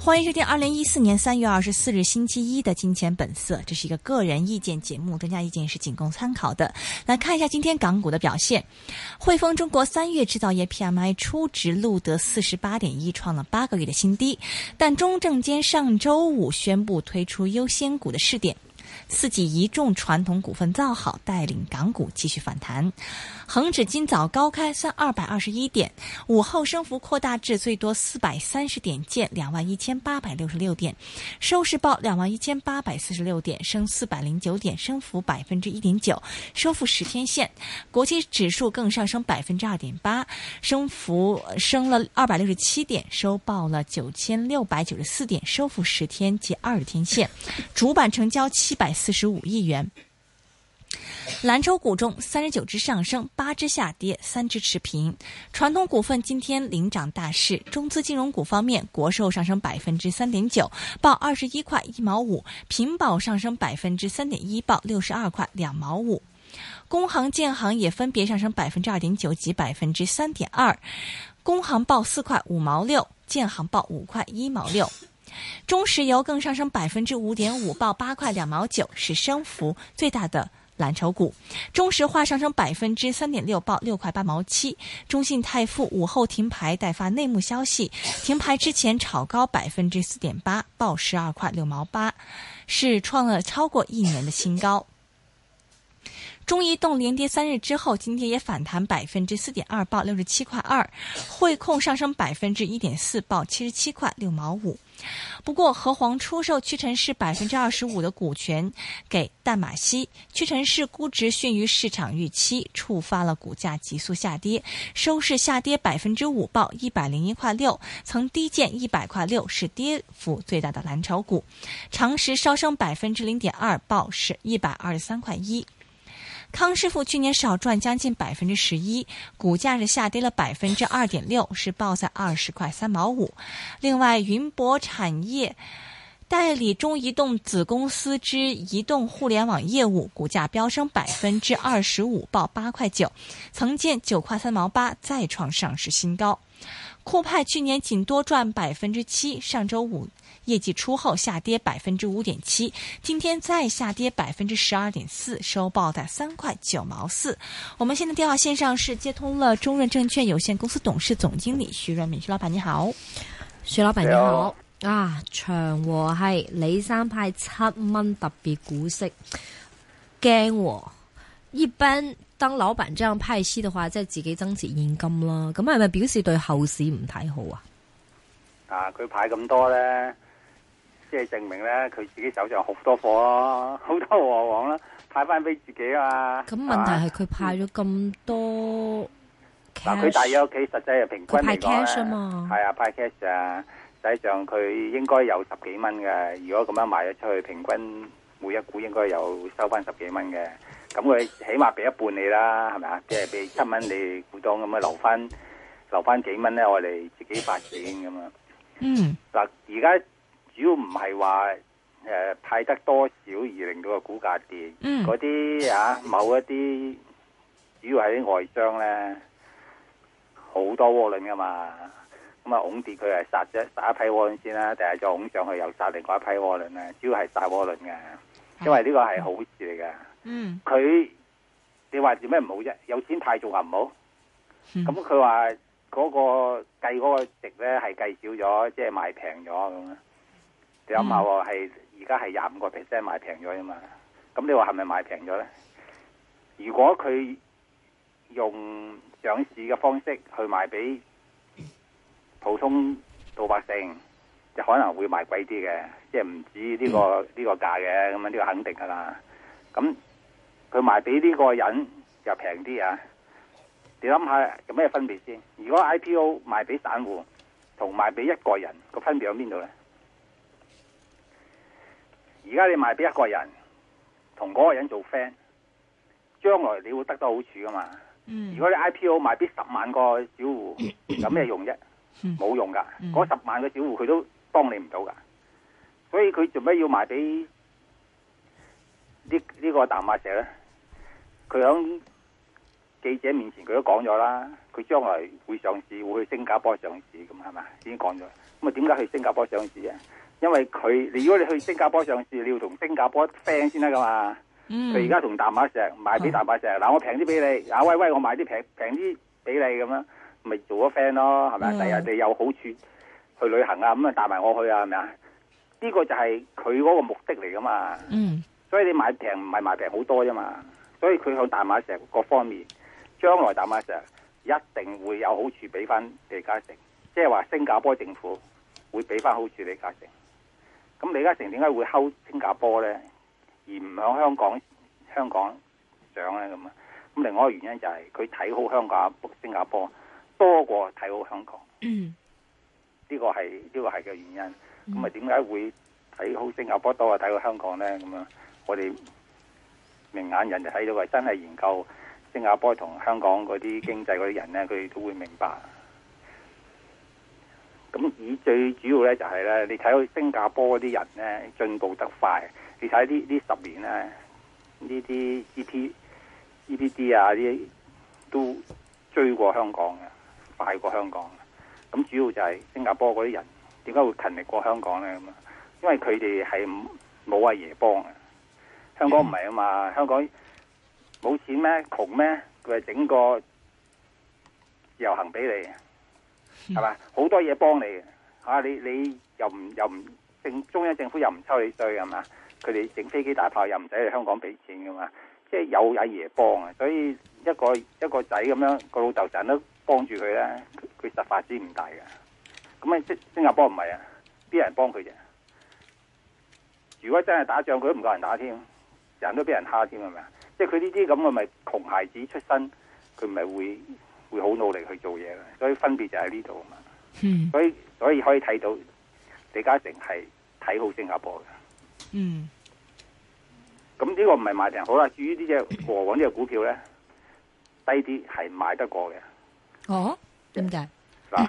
欢迎收听2014年3月24日星期一的金钱本色，这是一个个人意见节目，专家意见是仅供参考的。来看一下今天港股的表现。汇丰中国3月制造业 PMI 初值录得 48.1， 创了8个月的新低，但中证监上周五宣布推出优先股的试点，四季一众传统股份造好，带领港股继续反弹。恒指今早高开221点，午后升幅扩大至最多430点，见21,866点，收市报21,846点，升409点，升幅 1.9%， 收复10天线。国际指数更上升 2.8%， 升了267点，收报了9694点，收复10天及20天线。主板成交745亿元。蓝筹股中39只上升，8只下跌，3只持平。传统股份今天领涨大势，中资金融股方面，国寿上升 3.9%， 报21块1毛5，平保上升 3.1%， 报62块2毛5。工行建行也分别上升 2.9% 及 3.2%， 工行报4块5毛6，建行报5块1毛6。中石油更上升 5.5%， 报8块2毛9，是升幅最大的蓝筹股。中石化上升 3.6%， 报6块8毛7。中信泰富午后停牌待发内幕消息，停牌之前炒高 4.8%， 报12块6毛8，是创了超过1年的新高。中移动连跌3日之后，今天也反弹 4.2%， 报67块2。汇控上升 1.4%， 报77块6毛5。不过和黄出售屈臣氏 25% 的股权给淡马锡，屈臣氏估值逊于市场预期，触发了股价急速下跌，收市下跌 5%， 报101块6，曾低见100块6，是跌幅最大的蓝筹股。长实稍升 0.2%， 报是123块1。康师傅去年少赚将近 11%， 股价是下跌了 2.6%， 是报在20块3毛5。另外，云博产业代理中移动子公司之移动互联网业务，股价飙升 25%， 报8块9，曾见9块3毛8，再创上市新高。酷派去年仅多赚 7%， 上周五业绩出后下跌 5.7%， 今天再下跌 12.4%， 收报在3块9毛4。我们现在电话线上是接通了中润证券有限公司董事总经理徐润民，徐老闆你好。 徐老闆你好。啊，長和係李生派7蚊特別股息，驚喎。一般當老闆這樣派息的話，即係自己增持現金啦。咁係咪表示對後市唔睇好啊？ 啊，佢派咁多咧，即係證明咧佢自己手上好多貨咯，好多和黃啦，派翻俾自己啊。 咁問題係佢派咗咁多 cash， 佢大約屋企實際係平均嚟講咧， 派 cash 啊嘛， 係啊，派 cash 啊，實際上佢應該有10幾蚊嘅。如果咁樣賣咗出去，平均每一股應該有收翻10幾蚊嘅。咁佢起碼俾一半你啦，係咪啊？即係俾7蚊你股東咁樣留翻幾蚊咧，我哋自己發展咁樣。嗱，而家主要唔係話派得多少而令到個股價跌，嗰啲某一啲主要係啲外商咧好多窩輪噶嘛，咁啊拱跌佢係殺一批窩輪先啦，第日再拱上去又殺另外一批窩輪咧，主要係殺窩輪嘅，因為呢個係好事嚟嘅。佢你話做咩唔好啫？有錢派仲話唔好？咁佢話嗰個計嗰個值咧係計少咗，即係賣平咗咁啊！你諗下喎，係而家係25% 賣平咗啊嘛？咁你話係咪賣平咗咧？如果佢用上市嘅方式去賣俾普通老百姓，就可能會賣貴啲嘅，即係唔止呢個價嘅，咁啊呢個肯定噶啦。咁佢賣俾呢個人就平啲啊！你諗下有咩分別先？如果 IPO 賣俾散戶同賣俾一個人個分別喺邊度呢？而家你賣俾一個人，同嗰個人做 friend， 將來你會得到好處噶嘛？如果你 IPO 賣俾10萬個小戶，有咩用啫？冇用噶，嗰10萬個小戶佢都幫你唔到噶。所以佢做咩要賣俾呢個淡馬錫呢？佢響記者面前佢都講咗啦，佢將來會上市，會去新加坡上市，咁係咪？已經講咗， 咁啊點解去新加坡上市啊？因為如果你去新加坡上市，你要同新加坡 friend 先得噶嘛。佢而家同淡馬錫賣俾淡馬錫，嗱我平啲俾你，喂我買啲平啲俾你咁樣，咪做咗 friend 咯，係咪啊？第日你有好處去旅行啊，咁啊帶埋我去啊，係咪啊？呢個就係佢嗰個目的嚟噶嘛。所以你買平唔係買平好多啫嘛。所以佢向淡馬錫各方面，將來淡馬錫一定會有好處俾翻李嘉誠，即係話新加坡政府會俾翻好處李嘉誠。咁李嘉誠點解會睺新加坡咧，而唔響香港上咧咁啊？咁另外一個原因就係佢睇好新加坡多過睇好香港。呢個係嘅原因。咁啊點解會睇好新加坡多過睇好香港咧？咁啊，我哋明眼人就睇到係真係研究新加坡同香港嗰啲經濟嗰啲人咧，佢哋都會明白。咁最主要咧就係咧，你睇到新加坡嗰啲人咧進步得快。你睇呢10年咧，呢啲 GDP 啊啲都追過香港嘅，快過香港嘅。咁主要就係新加坡嗰啲人點解會勤力過香港咧？咁啊，因為佢哋係冇阿爺幫嘅。香港唔係啊嘛，香港冇錢咩？窮咩？佢係整個自由行俾你，係嘛？好多嘢幫你嚇，你又唔中央政府又唔抽你稅係嘛？佢哋整飛機大炮又唔使去香港俾錢噶嘛？即係有阿爺幫啊，所以一個仔咁樣個老豆成日都幫住佢咧，佢實發展唔大嘅。咁啊，新加坡唔係啊，邊人幫佢啫？如果真係打仗，佢都唔夠人打添，人都俾人蝦添係咪啊？即係佢呢啲咁嘅咪窮孩子出身，佢咪會好努力去做嘢嘅。所以分別就喺呢度啊嘛。所以可以睇到李嘉誠係睇好新加坡嘅。咁呢個唔係賣平好啦。至於呢隻和黃呢隻股票咧，低啲係買得過嘅。 哦，點解？ 嗱，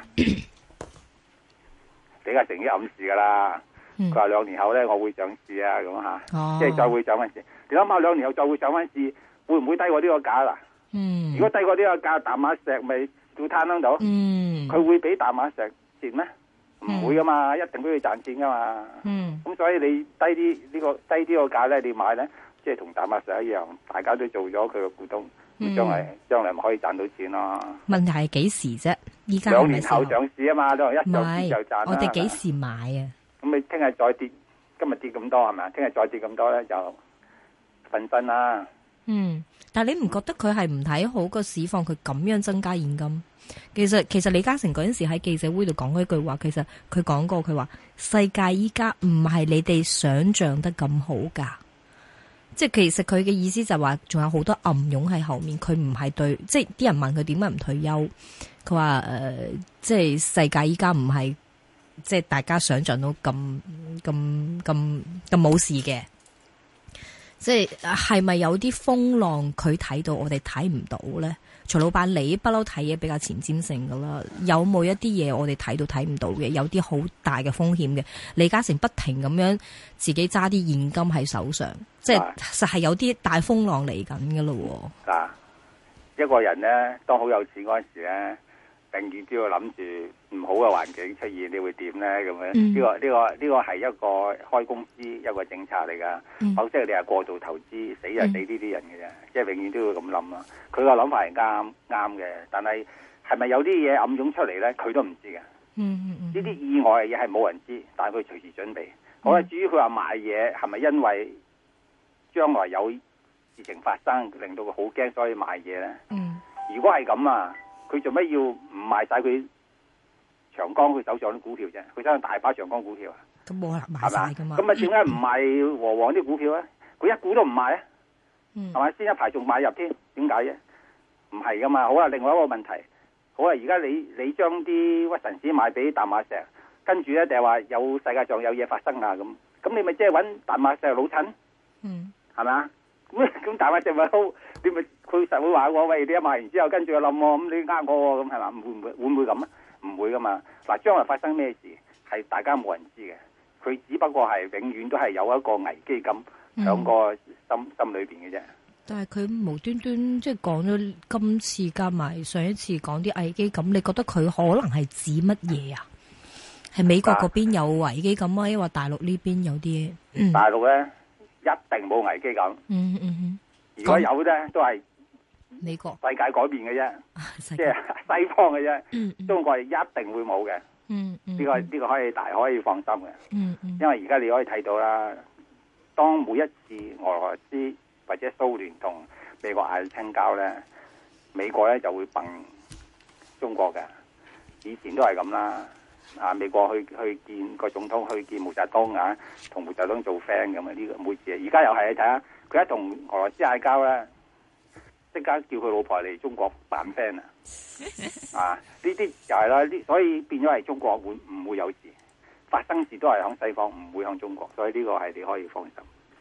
李嘉誠已經暗示噶啦。佢話2年後咧，我會上市啊，咁吓，即係再會上翻市。你諗下2年後再會上翻市，會唔會低過呢個價啦？如果低過呢個價，淡馬錫咪要攤喺度？佢會俾淡馬錫蝕咩？唔會噶嘛，一定都要賺錢噶嘛。咁所以你低啲個價咧，你買咧，即係同淡馬錫一樣，大家都做咗佢個股東，將來咪可以賺到錢咯。 問題係幾時啫？依家 2年後上市啊嘛，一上市就賺啦。 我哋幾時買啊？ 咁你聽日再跌，今日跌咁多係咪？聽日再跌咁多咧，就瞓身啦。 但係你唔覺得佢係唔睇好個市況？佢咁樣增加現金，其實李嘉誠嗰陣時喺記者會度講過一句話，其實佢講過，佢話世界依家唔係你哋想象得咁好噶。即係其實佢嘅意思就係話，仲有好多暗湧喺後面。佢唔係對，即係啲人問佢點解唔退休，佢話即係世界依家唔係。即係大家想象到咁冇事嘅，即係咪有啲風浪佢睇到我哋睇唔到咧？徐老闆，你不嬲睇嘢比較前瞻性噶啦，有冇一啲嘢我哋睇到睇唔到嘅？有啲好大嘅風險嘅？李嘉誠不停咁樣自己揸啲現金喺手上，即係實係有啲大風浪嚟緊噶咯。 嗱，一個人咧，當好有錢嗰陣時咧，永遠都要諗住唔好嘅環境出現，你會點咧？咁樣呢個係一個開公司一個政策嚟噶，否則你係過度投資，死就死呢啲人嘅啫。即係永遠都要咁諗啦。佢個諗法係啱嘅，但係咪有啲嘢暗湧出嚟咧？佢都唔知嘅。呢啲意外嘅嘢係冇人知，但係佢隨時準備。好啦，至於佢話買嘢係咪因為將來有事情發生，令到佢好驚，所以買嘢咧？如果係咁啊，佢做咩要唔賣晒佢長江佢手上啲股票啫？佢手上大把長江股票啊， 咁冇可能賣晒噶嘛？ 咁啊，點解唔賣和黃啲股票咧？佢一股都唔賣啊？係咪先一排仲買入添？點解啫？唔係噶嘛。好啦，另外一個問題，好啦，而家你將啲屈臣氏賣俾淡馬錫，跟住咧就係話有世界上有嘢發生啊咁你咪即係揾淡馬錫老襯？係咪啊？咁淡馬錫咪好？你咪佢實會話我喂，你一賣完之後跟住又冧喎，咁你呃我喎，咁係嘛？會唔會咁啊？唔會噶嘛。嗱，將來發生咩事係大家冇人知嘅，佢只不過係永遠都係有一個危機感響個心裏邊嘅啫。 但係佢無端端即係講咗今次加埋上一次講啲危機感，你覺得佢可能係指乜嘢啊？ 係美國嗰邊有危機感啊，抑或大陸呢邊有啲？ 大陸咧一定冇危機感。如果有咧，都係美國世界改變嘅啫，即係西方嘅啫。中國係一定會冇嘅。呢個可以放心嘅。因為而家你可以睇到啦，當每一次俄羅斯或者蘇聯同美國嗌清交咧，美國咧就會崩中國嘅。以前都係咁啦。美國去見個總統，去見毛澤東啊，同毛澤東做 friend 咁啊！呢個每次，而家又係你睇下，佢一同俄羅斯嗌交咧，即刻叫佢老婆嚟中國扮 friend 啊！呢啲就係啦，所以變咗係中國會唔會有事？發生事都係響西方，唔會響中國，所以呢個係你可以放心。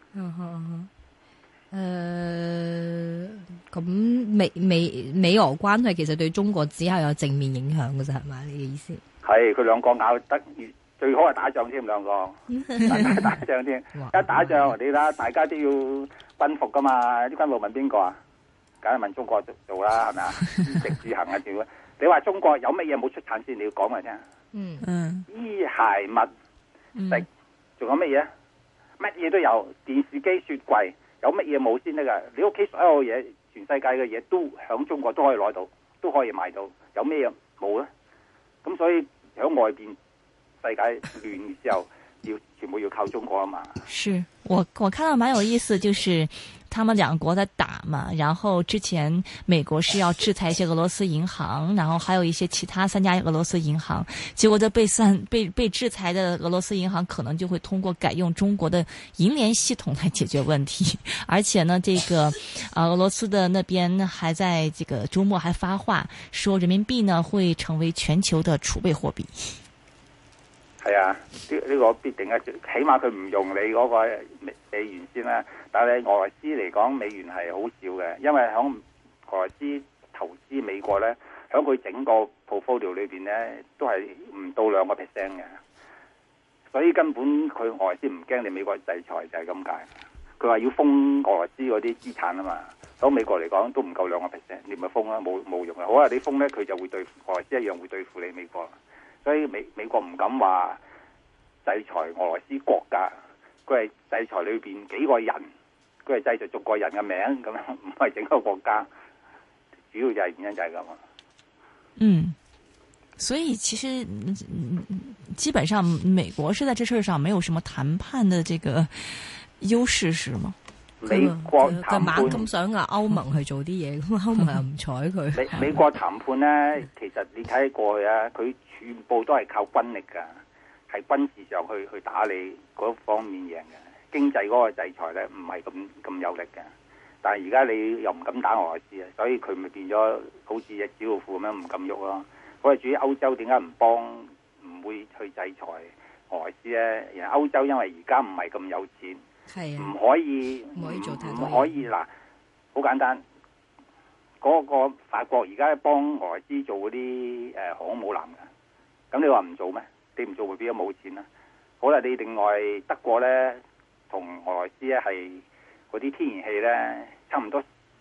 咁美俄關係其實對中國只係有正面影響嘅啫，係咪？你嘅意思？ 係佢兩個咬得最好係打仗添，兩個打仗添，一打仗你睇大家都要軍服噶嘛，啲軍服問邊個啊？梗係問中國做啦，係咪啊？衣食住行啊，點？你話中國有乜嘢冇出產先？你要講嚟聽。衣鞋襪食，仲有乜嘢？乜嘢都有，電視機、雪櫃，有乜嘢冇先得噶？你屋企所有嘢，全世界嘅嘢都響中國都可以攞到，都可以買到，有咩嘢冇咧？咁所以喺外邊世界亂嘅時候，全部要靠中國啊嘛。 是我看到蠻有意思，就是他們兩國在打嘛，然後之前美國是要制裁一些俄羅斯銀行，然後還有一些其他3家俄羅斯銀行，結果這被制裁的俄羅斯銀行可能就會通過改用中國的銀聯系統來解決問題，而且呢，這個俄羅斯的那邊還在這個周末還發話，說人民幣呢會成為全球的儲備貨幣。 係啊，呢個必定啊，起碼佢唔用你嗰個美元先啦。但係俄羅斯嚟講，美元係好少嘅，因為響俄羅斯投資美國咧，響佢整個 portfolio 裏邊咧，都係唔到2%嘅。所以根本佢俄羅斯唔驚你美國制裁，就係咁解。佢話要封俄羅斯嗰啲資產啊嘛，響美國嚟講都唔夠2%，你咪封啦，冇用啊。好啊，你封咧，佢就會對俄羅斯一樣會對付你美國。所以美國唔敢話制裁俄羅斯國家，佢係制裁裏邊幾個人，佢係制裁逐個人嘅名咁樣，唔係整個國家。主要就係原因就係咁啊。 所以其實基本上美國是在這事上沒有什麼談判的這個優勢，是嗎？ 美國談判咁想歐盟去做啲嘢，咁歐盟又唔睬佢。 美國談判咧，其實你睇過去啊，佢全部都係靠軍力噶，係軍事上去打你嗰方面贏嘅。經濟嗰個制裁咧，唔係咁有力嘅。但係而家你又唔敢打俄羅斯啊，所以佢咪變咗好似隻紙老虎咁樣唔敢喐咯。我哋至於歐洲點解唔會去制裁俄羅斯咧？而歐洲因為而家唔係咁有錢。係唔可以做太多，唔可以嗱，好簡單。嗰個法國而家幫俄羅斯做嗰啲航空母艦嘅，咁你話唔做咩？你唔做會變咗冇錢啦。好啦，你另外德國咧同俄羅斯咧係嗰啲天然氣咧，差唔多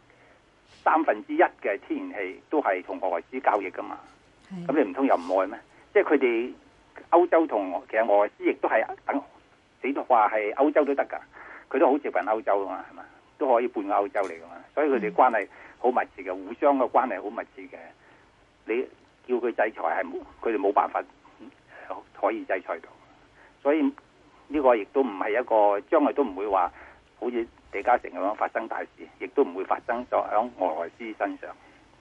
1/3嘅天然氣都係同俄羅斯交易噶嘛。咁你唔通又唔愛咩？即係佢哋歐洲同其實俄羅斯亦都係等。你都話係歐洲都得噶，佢都好接近歐洲噶嘛，係嘛？都可以半個歐洲嚟噶嘛，所以佢哋關係好密切嘅，互相嘅關係好密切嘅。你叫佢制裁係佢哋冇辦法可以制裁到，所以呢個亦都唔係一個將來都唔會話好似李嘉誠咁樣發生大事，亦都唔會發生咗喺俄羅斯身上。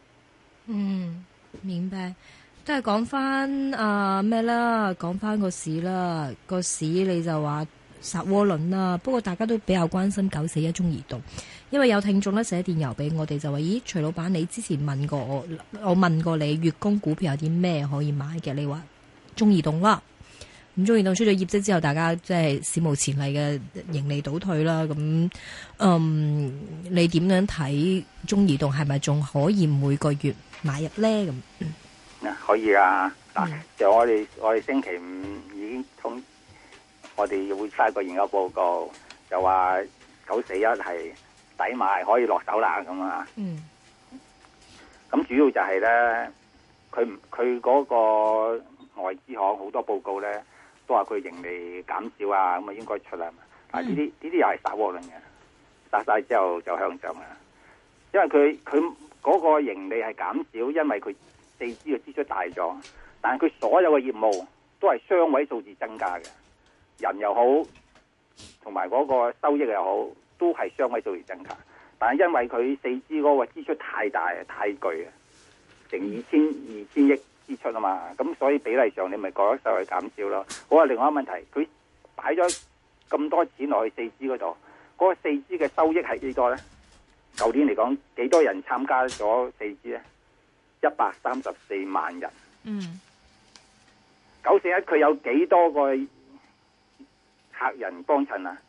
明白。都係講翻咩啦，講翻個市啦，個市你就話殺窩輪啦。不過大家都比較關心941中移動，因為有聽眾咧寫電郵俾我哋就話：咦，徐老闆，你之前問過我問過你月供股票有啲咩可以買嘅？你話中移動啦，咁中移動出咗業績之後，大家即係史無前例嘅盈利倒退啦。咁你點樣睇中移動係咪仲可以每個月買入咧？咁可以啊，就我哋星期五已經我哋會發個研究報告，就話941係抵買，可以落手啦咁啊。咁主要就係咧，佢嗰個外資行好多報告咧，都話佢盈利減少啊，咁啊應該出啦。啊，呢啲又係殺窩輪嘅，殺晒之後就向上啊。因為佢嗰個盈利係減少，因為佢4G嘅支出大咗，但係佢所有嘅業務都係雙位數字增加嘅，人又好，同埋嗰個收益又好，都係雙位數字增加。但係因為佢4G嗰個支出太大太巨啊，成二千億支出啊嘛，咁所以比例上你咪覺得收入減少咯。好啊，另外一個問題，佢擺咗咁多錢落去4G嗰度，嗰個4G嘅收益係幾多咧？舊年嚟講，幾多人參加咗4G咧？134萬人。941佢有幾多個客人幫襯啊？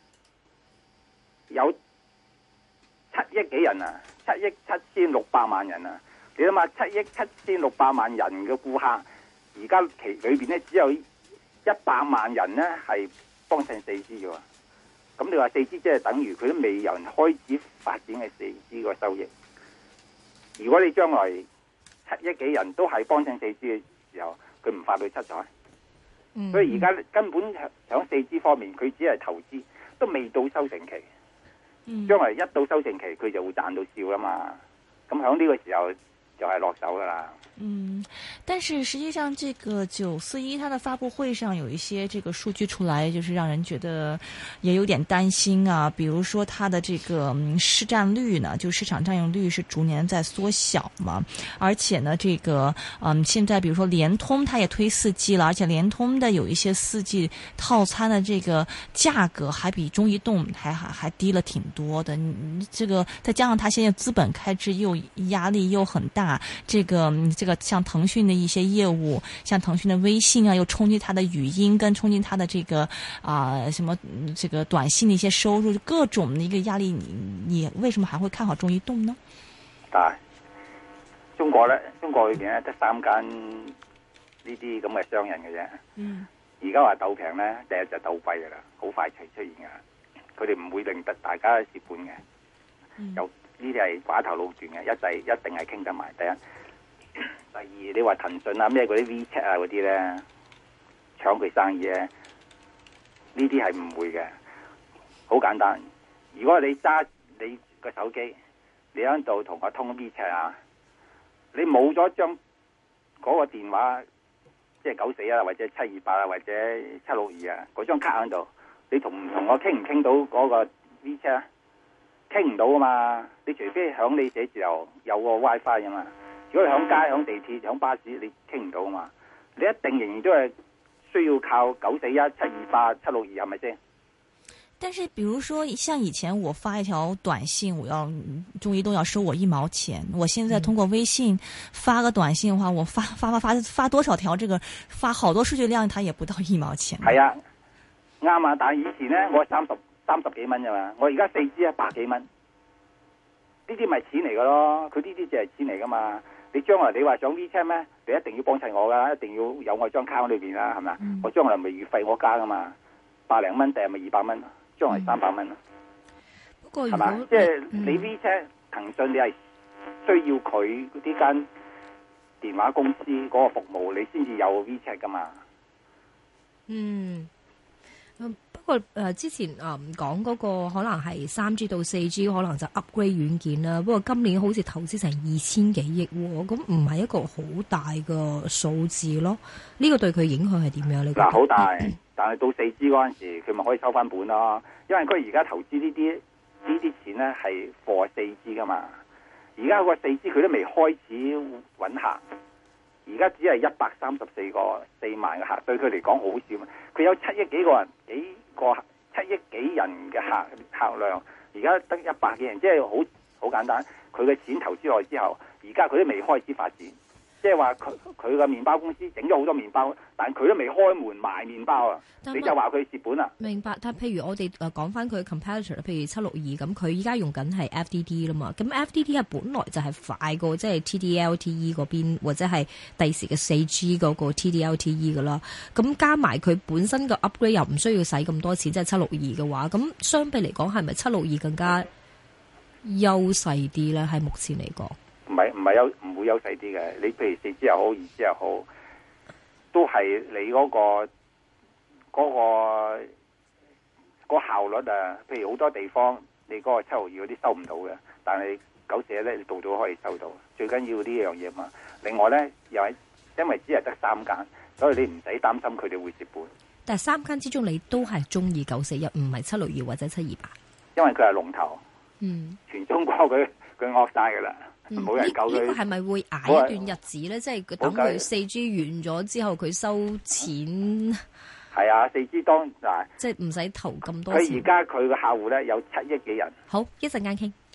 有7億幾人啊，7億7600萬人啊！你諗下，7億7600萬人嘅顧客，而家其裏邊咧只有100萬人咧係幫襯4G 嘅喎。咁你話4G 即係等於佢都未有人開始發展嘅4G 個收益。如果你將來7億幾人都係幫襯4G 嘅時候，佢唔發到七彩。所以而家根本響4G方面，佢只係投資，都未到收成期。將來一到收成期，佢就會賺到笑啦嘛。咁響呢個時候就係落手噶啦。 但是實際上這個941它的發布會上有一些這個數據出來，就是讓人覺得也有點擔心啊。比如說它的這個市佔率呢，就市場佔有率是逐年在縮小嘛。而且呢，這個現在比如說聯通它也推4G了，而且聯通的有一些4G套餐的這個價格還比中移動還低了挺多的。這個再加上它現在資本開支又壓力又很大，這個像騰訊的一些業務，像騰訊的微信啊，又衝擊它的語音，跟衝擊它的這個什麼這個短信的一些收入，各種的一個壓力，你為什麼還會看好中移動呢？ 中國裏邊咧得3間呢啲咁嘅商人嘅啫。而家話鬥平咧，第日就鬥貴噶啦，好快出現噶。佢哋唔會令得大家蝕本嘅。有呢啲係寡頭壟斷嘅，一定係傾得埋。第一。第二，你話騰訊啊咩嗰啲 WeChat 啊嗰啲咧搶佢生意咧，呢啲係唔會嘅。好簡單，如果你揸你個手機，你喺度同我通 WeChat 啊，你冇咗張嗰個電話，即係941啊或者728啊或者762啊嗰張卡喺度，你同唔同我傾唔傾到嗰個 WeChat 啊？傾唔到啊嘛，你除非響你寫字樓有個 WiFi 啊嘛。如果你響街、響地鐵、響巴士，你傾唔到啊嘛？你一定仍然都係需要靠941、728、762，係咪先？ 但是，比如說，像以前我發一條短信，中移動要收我1毛錢。我現在通過微信發個短信的話，我發多少條？這個發好多數據量，它也不到1毛錢。係啊，啱啊！但係以前咧，我30幾蚊啫嘛，我而家4G 100幾蚊，呢啲咪錢嚟噶咯？佢呢啲就係錢嚟噶嘛？你將來你話上 WeChat 咩？你一定要幫襯我噶，一定要有我張卡喺裏邊啦，係咪？我將來咪月費我加噶嘛，100零蚊定係咪200蚊？將來300蚊。 不過係嘛？即係你 WeChat 騰訊，你係需要佢呢間電話公司嗰個服務，你先至有 WeChat 噶嘛？ 不過之前講嗰個可能係3G 到4G，可能就 upgrade 軟件啦。不過今年好似投資成2000幾億喎，咁唔係一個好大嘅數字咯。呢個對佢影響係點樣呢？ 嗱，好大，但係到4G 嗰陣時，佢咪可以收翻本咯。因為佢而家投資呢啲錢咧係 for 4G 噶嘛。而家個 4G 佢都未開始揾客。而家只係134個4萬嘅客，對佢嚟講好少嘛。佢有7億幾個人，7億幾人嘅客量，而家得100幾人，即係好簡單。佢嘅錢投資落去之後，而家佢都未開始發展，即係話佢嘅麵包公司整咗好多麵包，但佢都未開門賣麵包啊！你就話佢蝕本啊？ 明白。但譬如我哋講翻佢 competitor，譬如762咁，佢依家用緊係 FDD 啦嘛。咁 FDD 係本來就係快過即係 TD-LTE 嗰邊，或者係第時嘅4G 嗰個 TD-LTE 噶啦。咁加埋佢本身個 upgrade 又唔需要使咁多錢，即係762嘅話，咁相比嚟講係咪762更加優勢啲咧？喺目前嚟講， 唔會優勢啲嘅。你譬如4G 又好，2G 又好， 都係你個效率啊。譬如好多地方你嗰個7毫2嗰啲收唔到嘅，但係941咧你到咗可以收到，最緊要呢樣嘢嘛。另外咧又係因為只係得3間，所以你唔使擔心佢哋會蝕本。 但係3間之中，你都係中意941，唔係762或者728， 因為佢係龍頭，全中國佢惡晒噶啦，冇人救佢。 呢個係咪會捱一段日子咧？即係等佢4G 完咗之後，佢收錢。 係啊，4G 當嗱， 即係唔使投咁多錢。 佢而家佢嘅客戶咧有7億幾人。 好，一陣間傾。